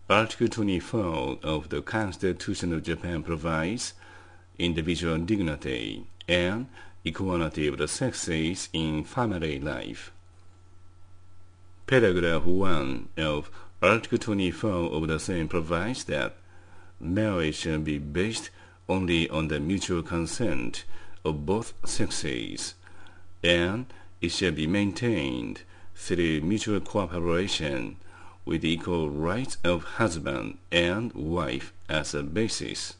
Article 24 of the Constitution of Japan provides individual dignity and equality of the sexes in family life. Paragraph 1 of Article 24 of the same provides that marriage shall be based only on the mutual consent of both sexes, and it shall be maintained through mutual cooperation with the equal rights of husband and wife as a basis.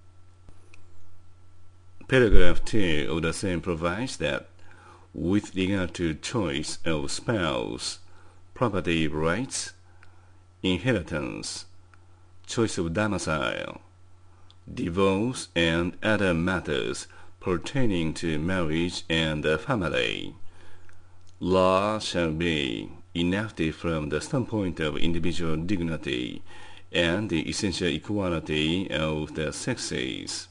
Paragraph 2 of the same provides that with regard to choice of spouse, property rights, inheritance, choice of domicile, divorce, and other matters pertaining to marriage and the family, law shall be enacted from the standpoint of individual dignity and the essential equality of the sexes.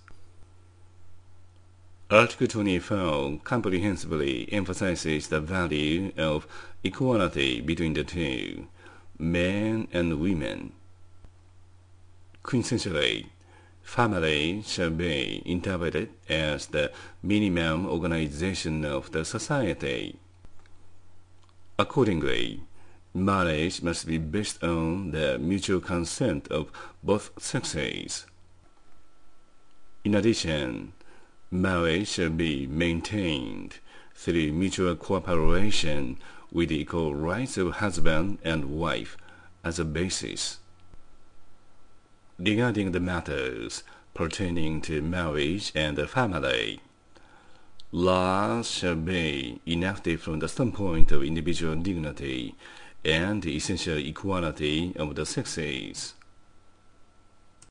Article 24 comprehensively emphasizes the value of equality between the two, men and women. Quintessentially, family shall be interpreted as the minimum organization of the society. Accordingly, marriage must be based on the mutual consent of both sexes. In addition, marriage shall be maintained through mutual cooperation with the equal rights of husband and wife as a basis. Regarding the matters pertaining to marriage and the family, laws shall be enacted from the standpoint of individual dignity and the essential equality of the sexes.